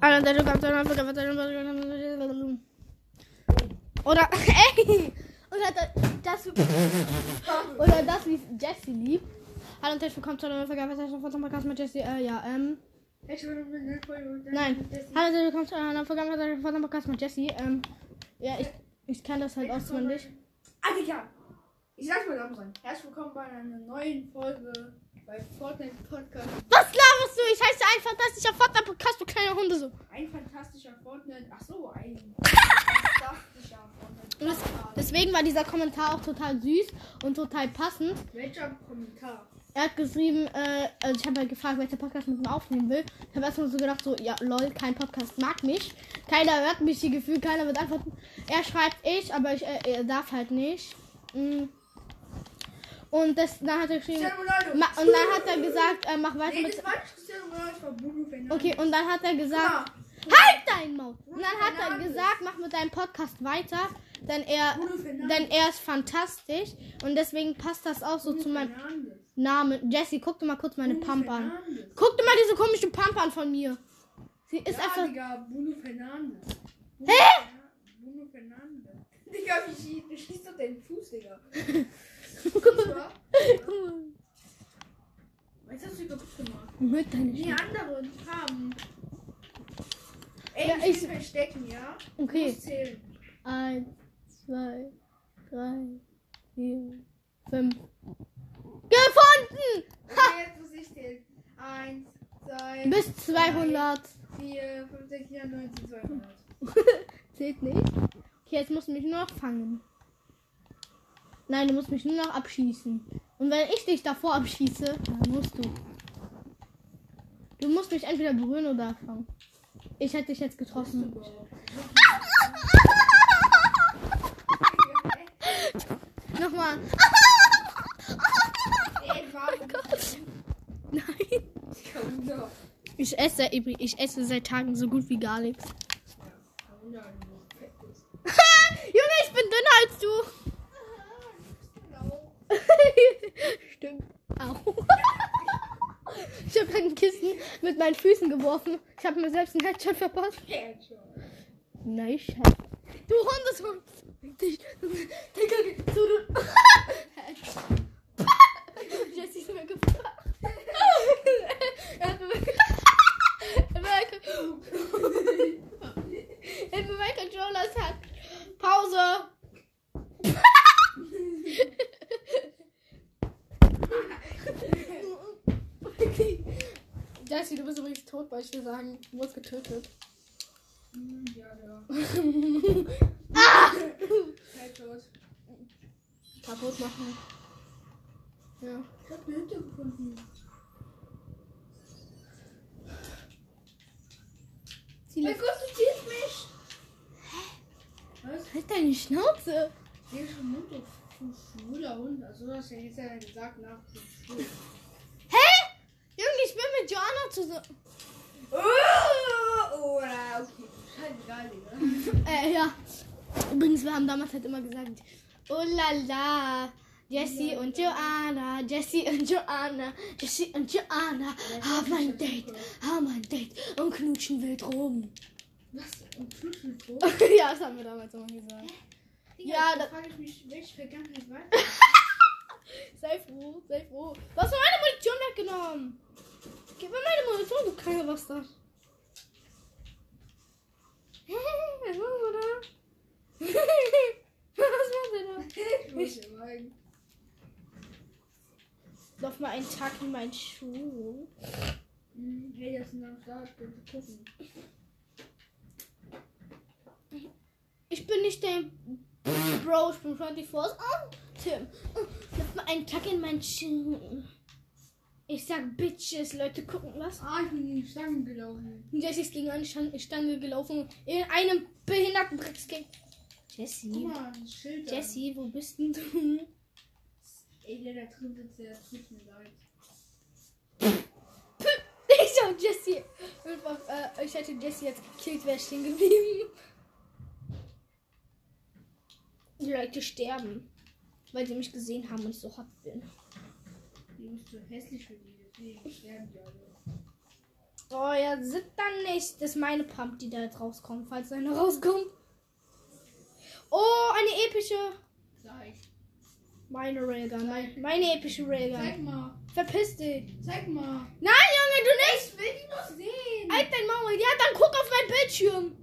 Oder, ey! Oder das, wie Jessie liebt. Hallo und herzlich willkommen zu einer neuen Podcast mit Jessie. Nein. Hallo und herzlich willkommen zu einer neuen Podcast mit Jessie. Ja, ich kann das halt auswendig. Alter, ich sag's mal langsam. Herzlich willkommen bei einer neuen Folge bei Fortnite Podcast. Was laberst du? Ich heiße ein fantastischer Fortnite Podcast für kleine Hunde so. Ein fantastischer Fortnite. Achso, ein fantastischer Fortnite Podcast. Deswegen war dieser Kommentar auch total süß und total passend. Welcher Kommentar? Er hat geschrieben, also ich habe halt gefragt, welcher Podcast mit ihm aufnehmen will. Ich habe erstmal so gedacht, so, ja, lol, kein Podcast mag mich. Keiner hört mich, die Gefühl, keiner wird antworten. Er schreibt aber er darf halt nicht. Und dann hat er geschrieben, und dann hat er gesagt, mach weiter mit... Okay, und dann hat er gesagt, halt dein Maul! Und dann hat er gesagt, mach mit deinem Podcast weiter, denn er ist fantastisch und deswegen passt das auch so zu meinem Namen. Jessie, guck dir mal kurz meine Pump an. Guck dir mal diese komische Pump an von mir. Sie ist einfach... Digga, Bruno Fernandes. Hä? Bruno Fernandes. Digga, wie schießt doch deinen Fuß, Digga? Was hast du kaputt gemacht? Mit deinen Die anderen haben. Ey, Ja, ich will verstecken, ja? Okay. Du musst zählen. 1, 2, 3, 4, 5. Gefunden! Okay, jetzt muss ich zählen. 1, 2, Bis 200. 4, 5, 6, 7, 9, 10, 200. Zählt nicht. Okay, jetzt musst du mich nur noch fangen. Nein, du musst mich nur noch abschießen. Und wenn ich dich davor abschieße, dann musst du. Du musst mich entweder berühren oder fangen. Ich hätte dich jetzt getroffen. Nochmal. Nein. Ich esse seit Tagen so gut wie gar nichts. Junge, ich bin dünner als du. Stimmt. Au. Ich habe ein Kissen mit meinen Füßen geworfen. Ich habe mir selbst einen Headshot verpasst. Nein, Scheiße. Du Hundeshund. Jessie ist mir gefahren. Er hat mir mein Controller hat. Pause. Jessie, du bist übrigens tot, weil ich dir sagen, du wurdest getötet. Ja. Tot. Kaputt machen. Ja. Ich hab eine Hütte gefunden. Mein Gott, du ziehst mich! Was? Halt deine Schnauze! Hier ist ein Hund auf schwuler Hund. Also hast du ja jetzt ja gesagt nach schwul. Hä? Junge, ich bin mit Joanna zusammen. Oh, okay. Scheißegal, Digga. Ja. Übrigens, wir haben damals halt immer gesagt, oh la la, Jessie und Joanna, Jessie und Joanna, Jessie und Joanna haben ein Date und knutschen wild rum. Was? Und knutschen wild rum? Ja, das haben wir damals immer gesagt. Digga, Ja, da frage ich mich, welche Vergangenheit war. Sei froh, sei froh. Du hast meine Munition weggenommen. Gib mir meine Munition, du kleiner Bastard. Was machst du da? Was machst du da? Ich muss ja meinen. Lauf mal einen Tag in meinen Schuh. Hey, das ist noch da, bitte gucken. Ich bin nicht der Bro, ich bin 24. Oh, Tim. Lauf mal einen Tag in meinen Schuh. Ich sag Bitches, Leute gucken was. Ich bin in die Stange gelaufen. Jessie ist gegen eine Stange gelaufen. In einem behinderten Brickskate. Jessie. Guck mal, ein Schild. Jessie, wo bist denn du? Ey, der da drin sitzt, der tut mir leid. Ich und Jessie. Ich hätte Jessie jetzt gekillt, wäre stehen geblieben. Die Leute sterben, weil sie mich gesehen haben und ich so hot bin. Die bist zu hässlich für die, deswegen sterben die alle. Oh ja, sind dann nicht. Das ist meine Pump, die da jetzt rauskommt, falls eine rauskommt. Oh, eine epische. Zeig. Meine Railgun. Meine epische Railgun. Zeig mal. Verpiss dich. Zeig mal. Nein, Junge, du nicht. Ich will die noch sehen. Halt dein Maul. Ja, dann guck auf mein Bildschirm.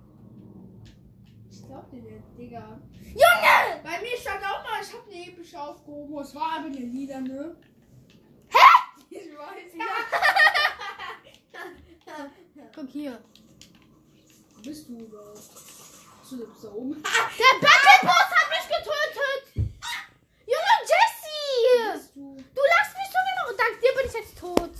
Ich glaub dir nicht, Digga. Junge! Bei mir stand auch mal, ich hab eine epische aufgehoben. Es war aber eine Lieder, ne? Hä? Ich weiß. Guck hier. Wo bist du überhaupt? Du bist da oben. Der Battleboss hat mich getötet. Junge, Jessie. Bist du? Du lachst mich so genau. Und dank dir bin ich jetzt tot.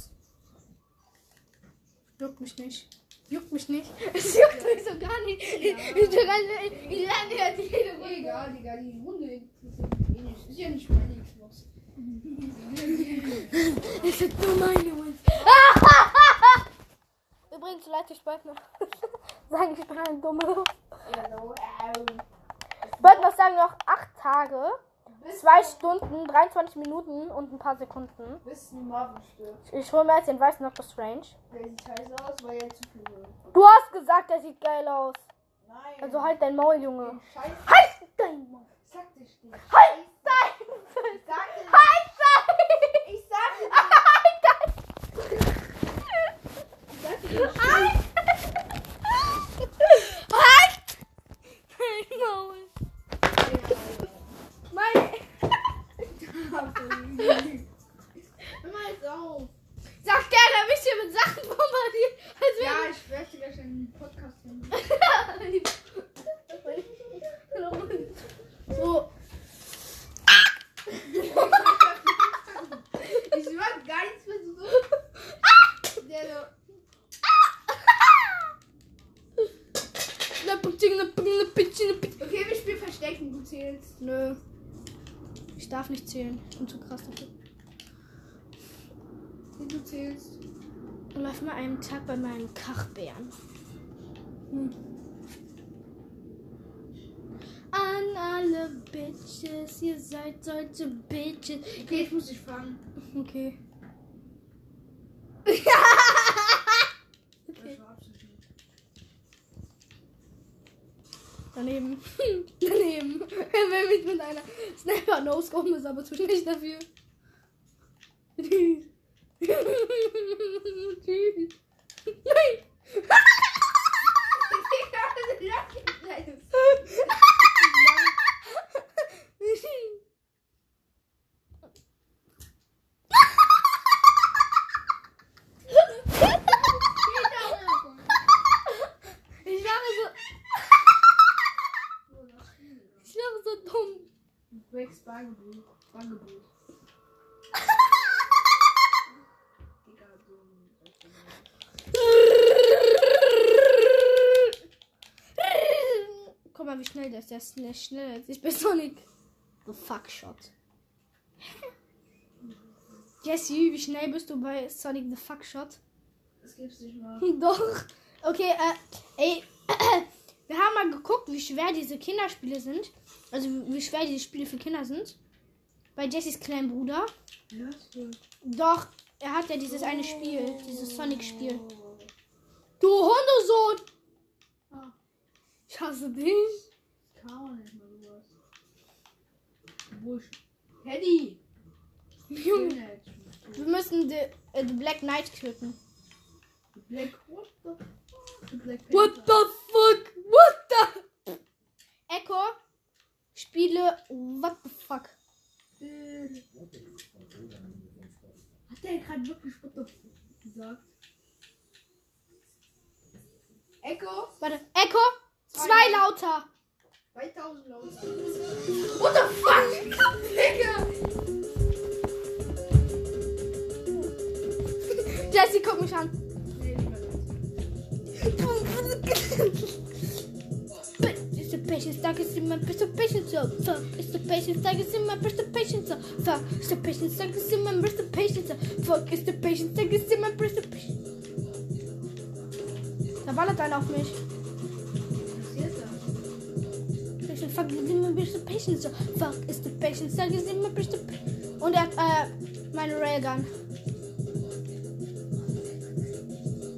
Juckt mich nicht. Juckt mich nicht. Es juckt mich so gar nicht. Ich lerne ja jede Runde. Egal, Digga, die Runde interessiert mich eh nicht. Ist ja nicht meine Xbox. Es ist nur meine Wins. Übrigens, Leute, ich wollte noch sagen, ich bin ein Dummer. Ich wollte noch sagen, noch 8 Tage, 2 Stunden, 23 Minuten und ein paar Sekunden. Bis ein Marvin stirbt. Ich hole mir jetzt den weißen Doctor Strange. Der sieht scheiße aus, weil er zu viel will. Du hast gesagt, der sieht geil aus. Nein. Also halt dein Maul, Junge. Scheiße. Halt dein Maul. Sag dir nicht. Halt dein Ich sag dir nicht. Halt dein. Ich sag dir nicht. Halt dein. Ich sag dir nicht. Halt. Halt dein Maul. Meine. Immer jetzt auf. Sag der, der mich hier mit Sachen bombardiert. Als Ja, wäre ich werde gleich einen Podcast finden. so. Ich mag gar nichts mehr so. Der so. Okay, wir spielen Verstecken, du zählst. Nö. Ich darf nicht zählen. Ich bin zu krass dafür. Du zählst. Läuft mal einen Tag bei meinem Kachbären. An alle Bitches, ihr seid solche Bitches. Okay, ich muss dich fangen. Okay. Okay. Daneben. Daneben. Er will mich mit einer Sniper no-scopen, ist aber zu schlecht dafür. Tschüss. Tschüss. Nein. Ich wäre so dumm. Wächst Bangebuch. Bangebuch. Guck mal, wie schnell der ist. Der ist schnell. Ich bin Sonic. The fuck shot. Jesse, wie schnell bist du bei Sonic the fuck shot? Das gibt's nicht mal. Doch. Okay, ey. Wir haben mal geguckt, wie schwer diese Kinderspiele sind. Also wie schwer diese Spiele für Kinder sind. Bei Jessys kleinen Bruder. Ja, Doch, er hat ja dieses eine Spiel, dieses Sonic-Spiel. Du Hundesohn! Ah. Ich hasse dich. Ich kann auch nicht mal sowas. Busch. Teddy! Junge, wir müssen die Black Knight töten. Black, what the fuck? Black What the fuck? What the? Echo, Spiele, what the fuck? Hat der gerade wirklich what the fuck gesagt? Echo? Warte, Echo, 2 lauter. 2000 Laut. What the fuck? Digga! Jessie, guck mich an. Nee, nicht mehr It's the patience that is in my best of patience, so fuck. It's the patience that is in my best of patience, so fuck. It's the patience that is in my best of patience, so fuck. It's the patience that is in my best of patience. Da ballert einer auf mich. Fuck, it's in my best of patience, so fuck. It's the patience that is in my best of patience. Und er hat meine Railgun.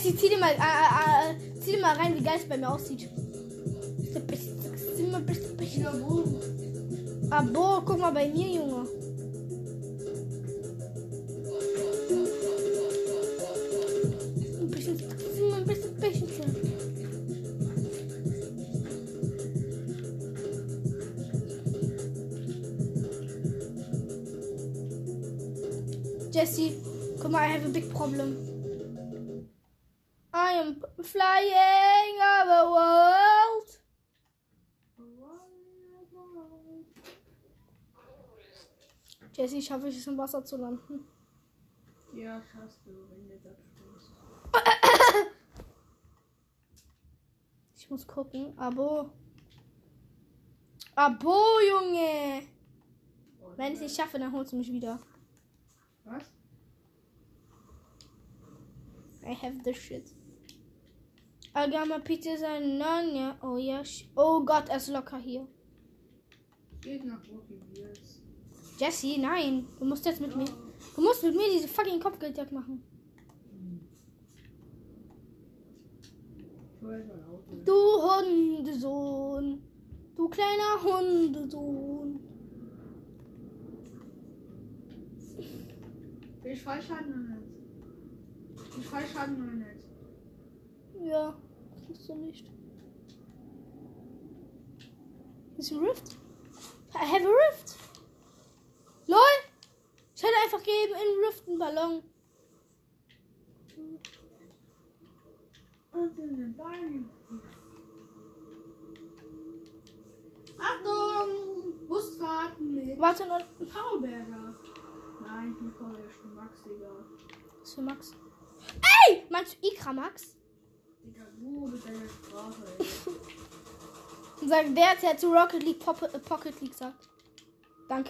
Jessie, zieh dir mal rein, wie geil es bei mir aussieht. Abo, guck mal bei mir, Junge. Ein bisschen. Jessie, guck mal, I have a big problem. I am flying over the world. Jessie, schaffe ich es im Wasser zu landen? Ja, schaffst du, wenn du das tust. Ich muss gucken. Abo, Junge. Wenn ich es nicht schaffe, dann holst du mich wieder. Was? I have the shit. I got my pizza and none. Oh ja. Oh Gott, er ist locker hier. Geht nach Rocky Beers. Jessie, nein. Du musst jetzt mit mir. Du musst mit mir diese fucking Kopfgeldjagd machen. Du Hundesohn. Du kleiner Hundesohn. Ich Fallschaden oder nicht? Ich Fallschaden oder nicht? Ja, kannst du nicht. Ist ein Rift? I have a Rift. LOL! Ich hätte einfach gegeben in Rift einen Ballon. Achtung! Busfahrten mit Warte noch. Powerberger. Nein, ich bin voll Max, Digga. Was für Max? Ey! Meinst du Ikra Max? Digga, du mit deiner Sprache, ey. Sag der zu Rocket League Pocket League sagt. Danke.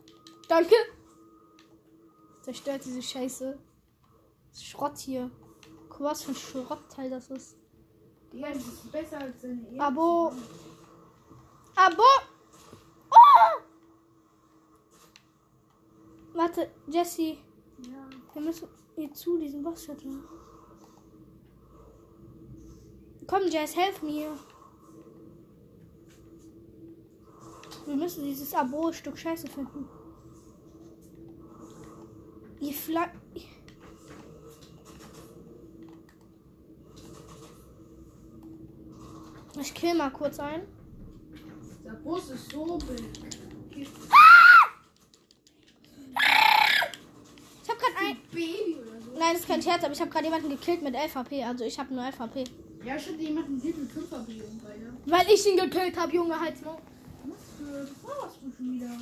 Zerstört diese Scheiße. Das ist Schrott hier. Guck, was für ein Schrottteil das ist. Digga, das ist besser als deine Ehe. Abo! Oh! Warte, Jessie. Ja. Wir müssen hier zu diesem Boss-Shuttle. Komm, Jess, helf mir. Wir müssen dieses Abo-Stück Scheiße finden. Ich kill mal kurz ein. Der Bus ist so big. Ich hab grad ein Baby oder so. Nein, das ist kein Scherz, aber ich habe gerade jemanden gekillt mit 11 HP. Also ich habe nur 11 HP. Ja, ich hatte jemanden mit 5 HP, Alter. Weil ich ihn gekillt habe, Junge, halt's mal. Was warst du schon wieder?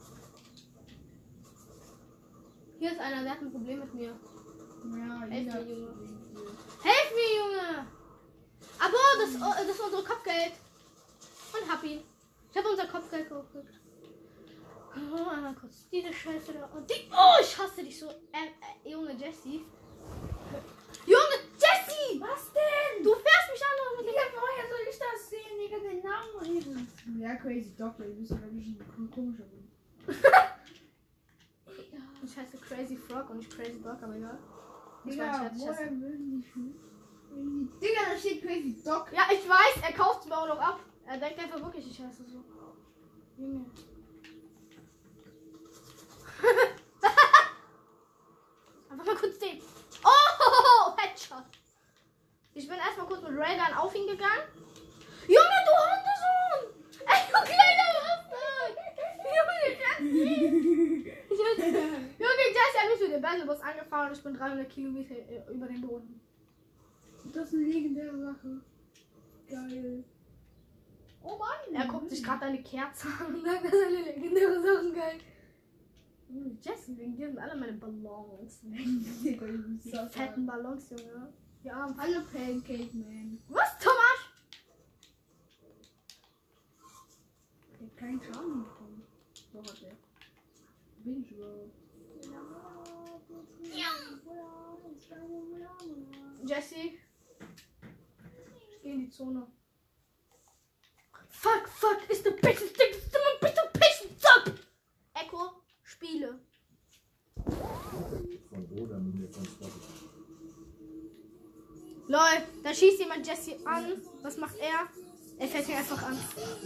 Hier ist einer, der hat ein Problem mit mir. Ja, Helf jeder. mir, Junge. Helf mir, Junge! Aber das ist unser Kopfgeld. Und hab ihn. Ich habe unser Kopfgeld gekriegt. Oh, einmal kurz diese Scheiße da. Und die. Oh, ich hasse dich so. Junge Jessie. Junge Jessie! Was denn? Du fährst mich an und Digga, woher soll ich das sehen, Digga, den Namen reden? Ja, Crazy Doctor, du bist aber nicht ein komischer Hund. Ich heiße Crazy Frog und nicht Crazy Dog, aber egal. Digga, woher würden die schon? Digga, da steht Crazy Dog. Ja, ich weiß, er kauft es mir auch noch ab. Er denkt einfach wirklich, ich heiße so. Junge. Einfach mal kurz den. Oh, Headshot. Ich bin erstmal kurz mit Raygun auf ihn gegangen. Junge, du Hundesohn! Ey, du kleiner Bastard! Junge, Jess hat mich mit dem Battlebus angefahren und ich bin 300 Kilometer über den Boden. Das ist eine legendäre Sache. Geil. Oh Mann. Er guckt sich gerade eine Kerze an und sagt, das ist eine legendäre Sache, geil. Jesse, wegen dir sind alle meine Ballons. Die fetten Ballons, Junge. Ja, alle Pancake Man. Was, Thomas? Der hat keinen Schaden bekommen. Doch hat der. Bin ich überhaupt. Jesse. Ich geh in die Zone. Fuck, ist the bitch, Echo, Spiele. Von Oder mit mir von Spotify. Lol, da schießt jemand Jesse an. Was macht er? Er fällt ihn einfach an.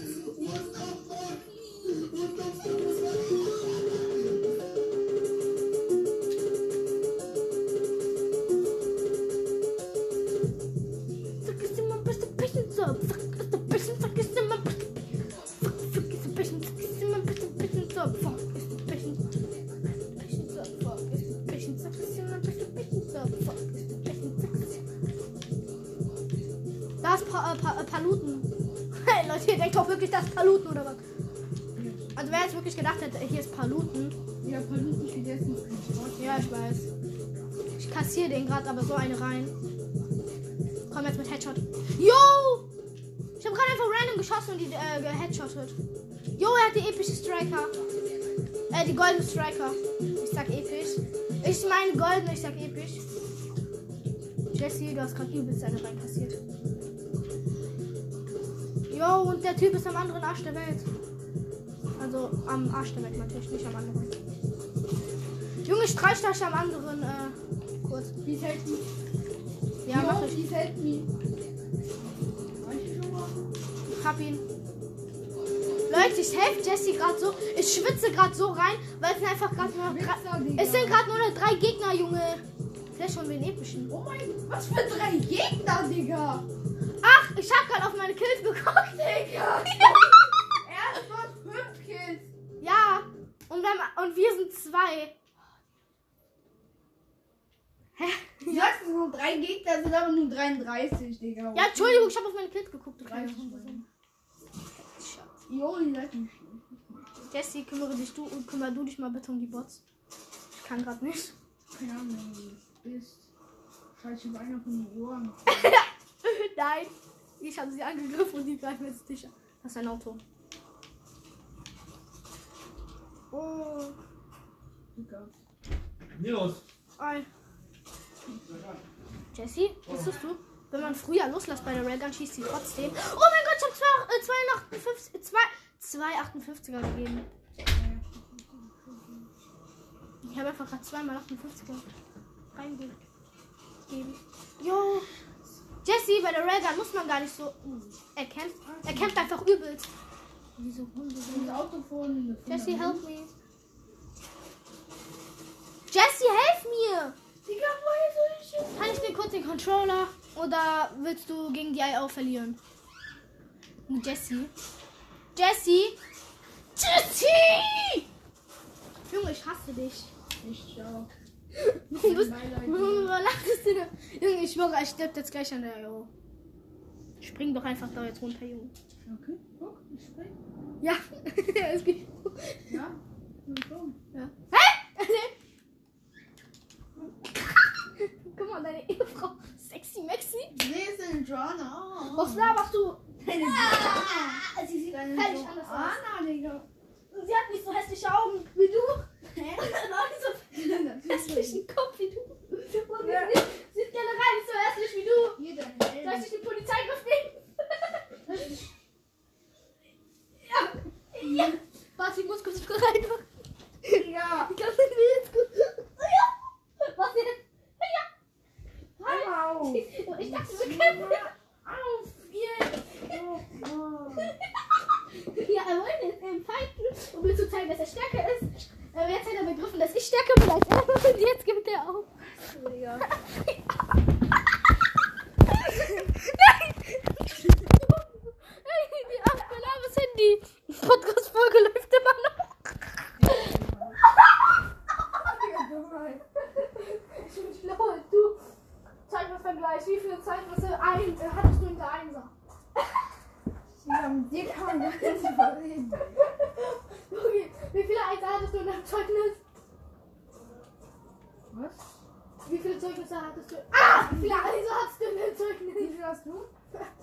Da ist Paluten. Hey Leute, ihr denkt doch wirklich, das ist Paluten oder was? Also wer jetzt wirklich gedacht hätte, hier ist Paluten. Ja, Paluten steht jetzt nicht. Ja, ich weiß. Ich kassiere den gerade, aber so eine rein. Komm jetzt mit Headshot. Yo! Ich habe gerade einfach random geschossen und die geheadshottet. Jo, er hat die epische Striker. Die goldene Striker. Ich sag episch. Ich meine golden, ich sag episch. Jesse, du hast gerade übelst eine reinkassiert. Jo, und der Typ ist am anderen Arsch der Welt. Also am Arsch der Welt natürlich, nicht am anderen. Junge, streich das am anderen, kurz. Wie fällt mir? Ja, mach ich. Wie fällt mir? Ich hab ihn. Leute, ich helfe Jesse gerade so. Ich schwitze gerade so rein, weil es sind einfach gerade nur es sind gerade nur noch 3 Gegner, Junge. Vielleicht schon den epischen. Oh mein Gott, was für 3 Gegner, Digga? Ach, ich hab gerade auf meine Kills geguckt, Digga. Erstmal 5 Kills. Ja, und wir sind 2. Hä? Du sagst, es sind nur 3 Gegner, sind aber nur 33, Digga. Ja, Entschuldigung, ich habe auf meine Kills geguckt. Jo, die seid nicht. Jesse, kümmere du dich mal bitte um die Bots. Ich kann gerade nicht. Keine Ahnung, wie du bist. Scheiße, über einer von den Ohren. Nein, ich habe sie angegriffen und die greifen jetzt dich an. Das ist ein Auto. Oh. Nils. Ei. Jesse, wusstest du? Wenn man früher loslässt bei der Railgun, schießt sie trotzdem. Oh mein Gott, ich habe 2,58er gegeben. Ich habe einfach gerade 2x58er reingegeben. Jo. Jesse, bei der Railgun muss man gar nicht so. Er kämpft einfach übelst. Wieso Hunde sind das Auto vorne? Jesse, help me. Jesse, helf mir! Digga, woher soll ich jetzt? Kann ich dir kurz den Controller oder willst du gegen die IO verlieren? Jesse. Jesse! Jesse! Junge, ich hasse dich. Ich auch. Warum lachtest du denn? Junge, ich schwöre, ich stirb jetzt gleich an der IO. Spring doch einfach da jetzt runter, Junge. Okay, guck, ich spring. Ja, es geht. Ja? Ja. Hä? Guck mal, deine Ehefrau. Sexy Maxi. Sie ist eine Joanna. Was laberst du? Eine Joanna. Sie sieht eine Völlig anders aus. Joanna, Digga. Sie hat nicht so hässliche Augen wie du. Hä? Nein, so hässlichen Kopf wie du. Und Ja. sie ist generell nicht so hässlich wie du. Hier deine Soll ich Eltern. dich die Polizei nehmen? Ja. Warte, ich muss kurz rein. Ja. Ich kann den jetzt gut. Ja. Was jetzt? Ja. Au. Ich dachte, wir kämpfen. Auf jetzt. Ja, er wollte jetzt fighten, um mir zu zeigen, dass er stärker ist. Aber jetzt hat er begriffen, dass ich stärker bin als er. Und jetzt gibt er auf. Digga. Nein! Hey, die 8 Balabas Handy. Podcast-Folge läuft immer noch. Ich bin schlauer als du. Zeitvergleich. Wie viele Zeitwürfe hattest du in der Einser? Ja, mit dir kann man gar nicht überreden. Okay, wie viele Einser hattest du in deinem Zeugnis? Was? Wie viele Zeugnisse hattest du? Ah! Wie viele Einser hattest du in deinem Zeugnis? Wie viel hast du?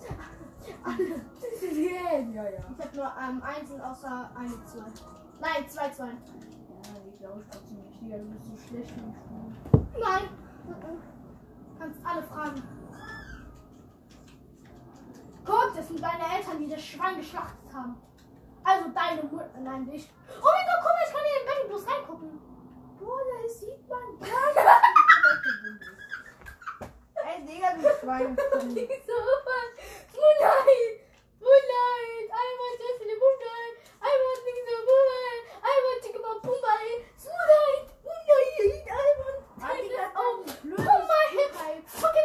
Ja, ja. Ich hab nur Einsen außer 1, 2. Nein, 2, 2. Ja, ich glaube trotzdem nicht. Digga, du bist so schlecht im Spiel. Nein. Kannst alle fragen. Guck, das sind deine Eltern, die das Schwein geschlachtet haben. Also deine Mutter, nein, dich. Oh mein Gott, guck mal, ich kann hier in Betty bloß reingucken. Boah, das sieht man gar nicht. Ey, Digga, du reinkommen. Moonlight, I want just in the moonlight. I want things in the moonlight. I want to go moonlight. Moonlight, moonlight. I want to oh my head. Fucking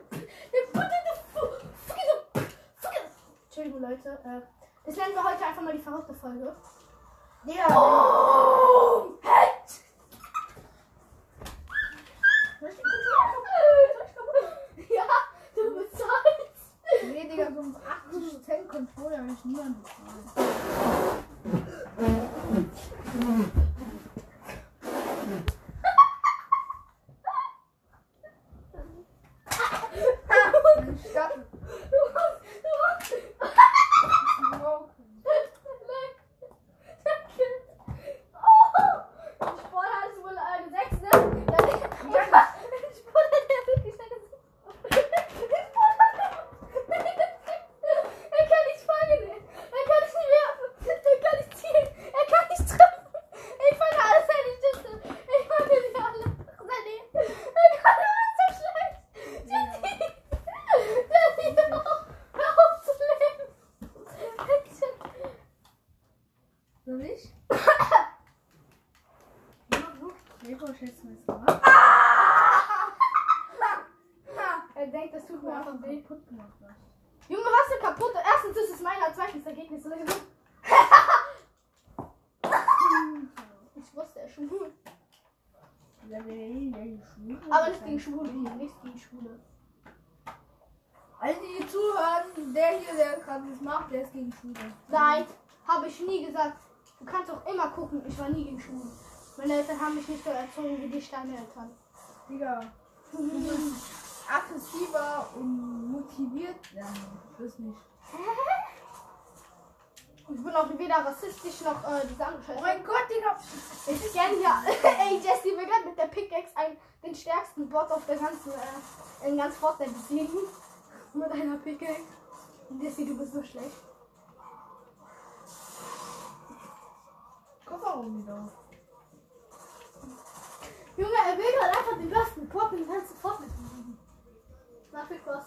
Entschuldigung, Leute. Das nennen wir heute einfach mal die verrückte Folge. Ja. Oh! Head! Ja, du bezahlst. Nee, Digga, so um 80% Controller habe ich niemand bezahlt. Er denkt, das tut mir einfach weh. Junge, was ist kaputt? Erstens ist es meiner, zweitens Ergebnis. Ich wusste es schon. Aber nicht gegen Schwule hier, nicht gegen Schwule. Alle, die zuhören, der hier, der gerade das macht, der ist gegen Schwule. Nein, habe ich nie gesagt. Du kannst auch immer gucken, ich war nie gegen Schwule. Meine Eltern haben mich nicht so erzogen wie dich, deine Eltern. Digga, du bist aggressiver und motiviert. Ja, das nicht. Ich bin auch weder rassistisch noch diese andere Scheiße. Oh mein Gott, Digga. Ich kenne ja. Ey, Jesse, wir werden mit der Pickaxe den stärksten Bot auf der ganzen, in ganz Fortnite besiegen. Mit einer Pickaxe. Jesse, du bist so schlecht. Kofferraum wieder. Junge, er will gerade einfach den besten Pop in den ganzen Fortnite besiegen. Na, viel Spaß.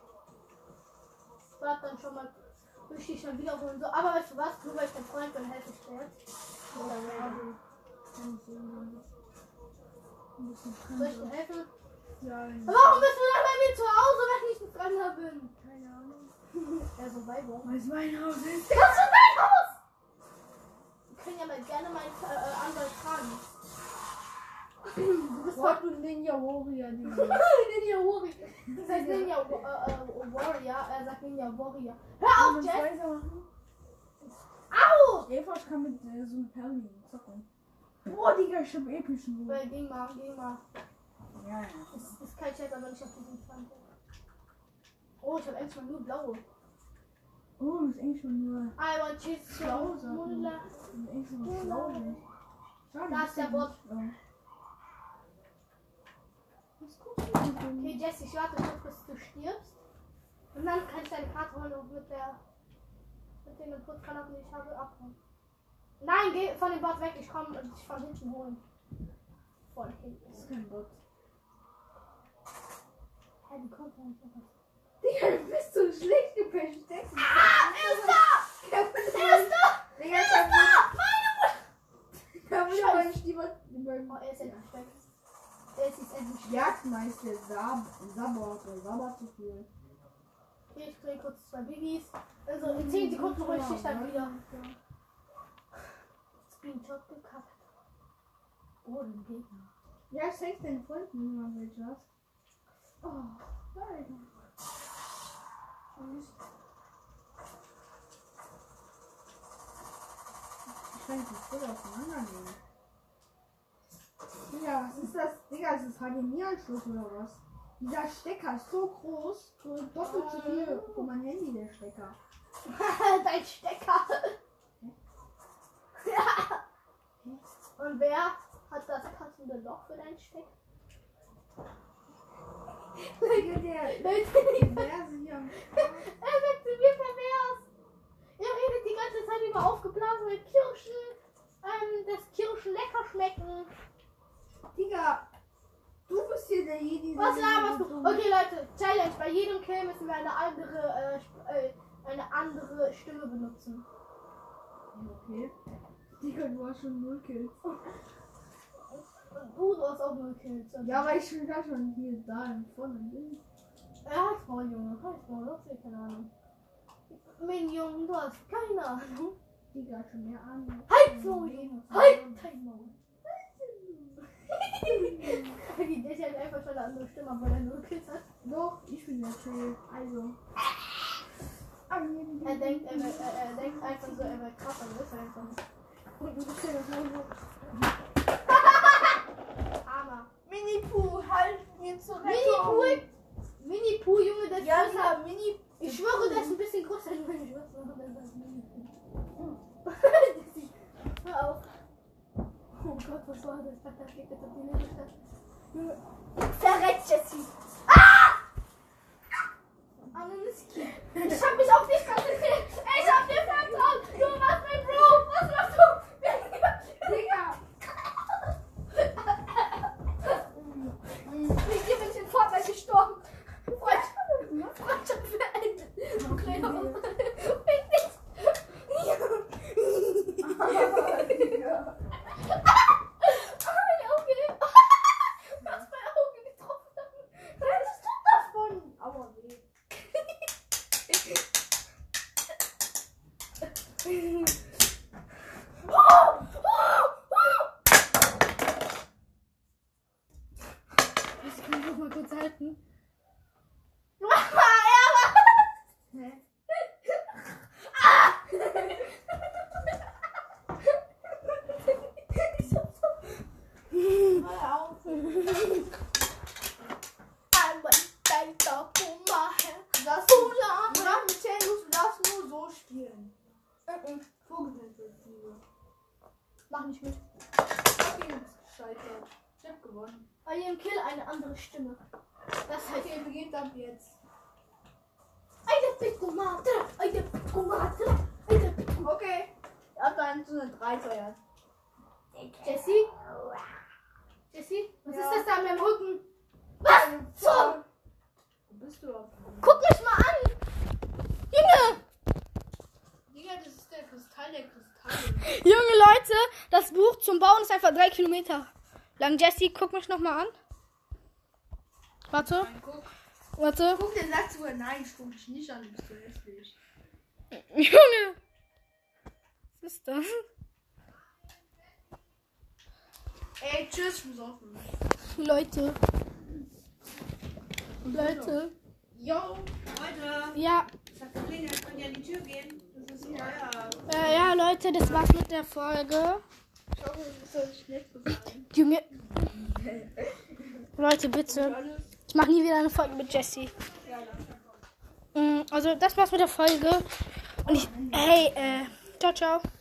Warte dann schon mal. Ich dich schon wiederholen. So, aber weißt du was? Nur weil ich dein Freund bin, helfe ich dir jetzt. Oder soll ich dir helfen? Ja, Warum bist du dann bei mir zu Hause, wenn ich ein Fremder bin? keine Ahnung. Ja, so weit, wo? Weil es mein Haus ist. Das ist dein Haus! Wir können ja mal gerne meinen Anwalt fragen. Du bist What du Ninja Warrior, Digga. Ninja Warrior. Das heißt Ninja Warrior. Er sagt Ninja Warrior. Hör auf, Jess! Au! Eva, ich kann mit so einem Perli zocken. Boah, Digga, ich hab epischen Mut. Geh mal. Ja. Es ist kein Chat, aber nicht auf diesem 20. Oh, ich hab endlich mal nur blaue. Oh, das ist eigentlich schon nur I want cheese. schlau Sachen. Das ist eigentlich so schlau nicht. Da ist der Bot. Was guckst du denn? Okay, Jesse, ich warte kurz, bis du stirbst. Und dann kann ich deine Karte holen und mit dem Input-Kanal, den ich habe, abholen. Nein, geh von dem Bot weg, ich komme und dich von hinten holen. Von hinten. Das ist kein Bot. Hä, die kommt ja nicht mehr. Digga, du bist so schlecht, du versteckst dich. Er ist da! Er ist da! Digga, Er ist da! Meine Mutter! Ich hab wieder meinen Stiefel. Oh, er ist endlich weg. Er ist jetzt endlich weg. Jagdmeister Sabber zu viel. Okay, ich kriege kurz 2 Biggies. Also in 10 Sekunden hole ich dich dann wieder. Screenshot gekackt. Oh, den Gegner. Ja, schenk deinen Freunden, wenn man welche hast. Oh, nein. Ich kann die voll auseinandernehmen. Digga, was ist das? Digga, ist das HDMI-Anschluss oder was? Dieser Stecker ist so groß, so doppelt so viel für mein Handy, der Stecker. Dein Stecker. Und wer hat das passende Loch für deinen Stecker? Der Perverse hier. Er sagt zu mir pervers. Er redet die ganze Zeit über aufgeblasene Kirschen, dass Kirschen lecker schmecken. Digga, Du bist hier der Jedi. Was laberst du? Okay, Leute, Challenge. Bei jedem Kill müssen wir eine andere Stimme benutzen. Okay. Digga, du hast schon 0 Kills. Du hast auch 0 Kills. Ja, weil ich schon gar schon hier da vorne bin. Halt voll, Junge. Halt voll. Du hast keine Ahnung. Minion, du hast keine Ahnung. Digga, schon mehr Ahnung. Halt voll, Junge. Halt dein Maul. Okay, der ist halt einfach schon eine andere Stimme, weil er 0 Kills hat. Doch, ich bin der Kill. Also. Er denkt einfach so, er wäre krass, aber ist er einfach nicht. Und du bist ja das Mund. Hammer. Mini-Pooh, halt mir zur Mini-Pooh, Junge, das ja, ist ja, Mini. Ich schwöre, der ist ein bisschen größer als meine Schwester. Hör auf. Oh Gott, was war das? Da steht jetzt auf die Liste. Verreckt, Jessie. Anoniski. Ich hab mich auf dich konzentriert. Ich hab dir vertraut. Du warst mein Bro. Was machst du? Digga. Ich bin mit dem Vater gestorben. Freundschaft beendet. Okay. Mal kurz halten. Hä? Hör auf. Du darfst nur so spielen. Vogelperspektive. Mach nicht mit. Okay, gescheitert. Ich hab gewonnen. Bei jedem Kill eine andere Stimme. Das heißt, Okay, beginnt ab jetzt. eine Pittomate, eine Pittomate, eine Pittomate. Okay. Ab dann so eine 3 teuer. Jessie? Jessie? Was Ja. ist das da an meinem Rücken? Was zum? Wo bist du auf? Guck mich mal an! Junge! Digga, das ist der Kristall der Kristalle. Junge Leute, das Buch zum Bauen ist einfach 3 Kilometer lang. Jessie, guck mich nochmal an. Warte, Nein, guck. warte. Guck, der sagt sogar nein, ich guck dich nicht an, du bist so hässlich. Junge! Was ist das? Ey, tschüss, ich muss aufhören. Leute. Leute. Yo, Leute. Ja. Ich hab geklingelt, könnt ihr an die Tür gehen? Das ist hier. Ja, Leute, das war's mit der Folge. Ich hoffe, es soll nicht nett sein. Junge. Leute, bitte. Ich mache nie wieder eine Folge mit Jessie. Also, das war's mit der Folge. Und ciao, ciao.